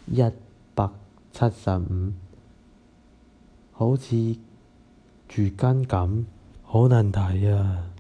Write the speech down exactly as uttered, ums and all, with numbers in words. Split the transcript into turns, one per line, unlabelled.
一百七十五，好似住根咁，好難睇啊！